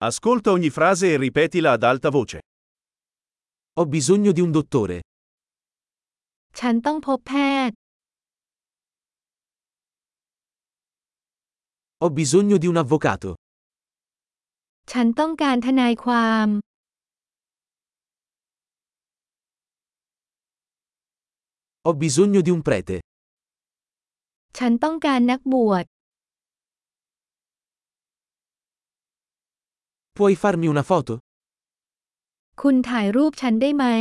Ascolta ogni frase e ripetila ad alta voce. Ho bisogno di un dottore. ฉันต้องพบแพทย์ Ho bisogno di un avvocato. ฉันต้องการทนายความ Ho bisogno di un prete. ฉันต้องการนักบวช Puoi farmi una foto? คุณถ่ายรูปฉันได้ไหม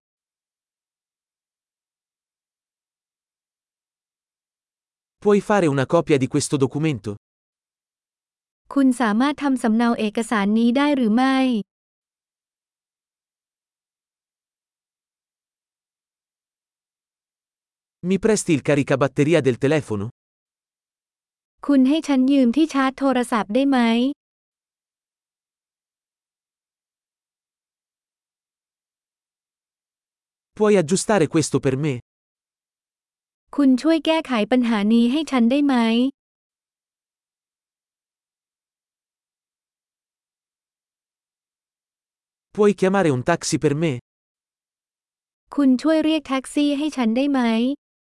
Puoi fare una copia di questo documento? คุณสามารถทำสำเนาเอกสารนี้ได้หรือไม่ Mi presti il caricabatteria del telefono? คุณให้ฉันยืมที่ชาร์จโทรศัพท์ได้ไหม Puoi aggiustare questo per me? คุณช่วยแก้ไขปัญหานี้ให้ฉันได้ไหม Puoi chiamare un taxi per me? คุณช่วยเรียกแท็กซี่ให้ฉันได้ไหม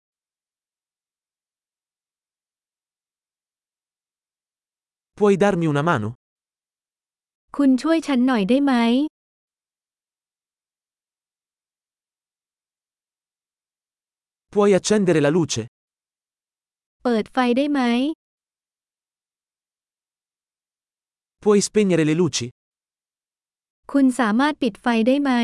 Puoi darmi una mano? คุณช่วยฉันหน่อยได้ไหม Puoi accendere la luce? เปิดไฟได้ไหม Puoi spegnere le luci? คุณสามารถปิดไฟได้ไหม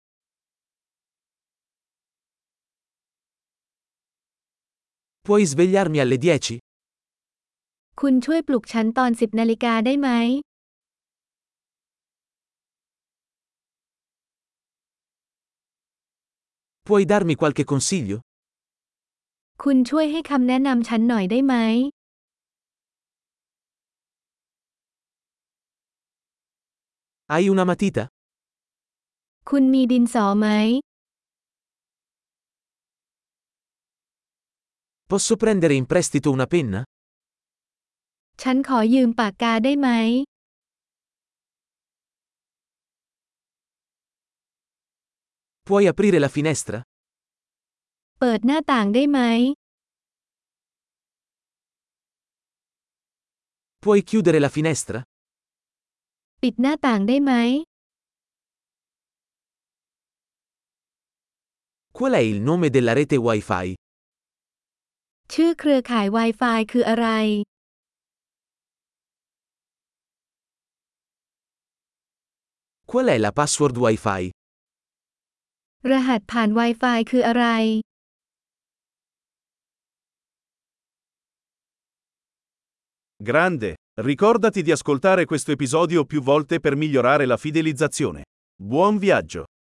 Puoi svegliarmi alle 10? คุณช่วยปลุกฉันตอน10 นาฬิกาได้ไหม Puoi darmi qualche consiglio? คุณช่วยให้คำแนะนำฉันหน่อยได้ไหม Hai una matita? คุณมีดินสอไหม Posso prendere in prestito una penna? ฉันขอยืมปากกาได้ไหม Puoi aprire la finestra? เปิดหน้าต่างได้ไหม Puoi chiudere la finestra? ปิดหน้าต่างได้ไหม Qual è il nome della rete Wi-Fi? ชื่อเครือข่าย Wi-Fi คืออะไร Qual è la password Wi-Fi? รหัสผ่าน Wi-Fi คืออะไร Grande! Ricordati di ascoltare questo episodio più volte per migliorare la fidelizzazione. Buon viaggio!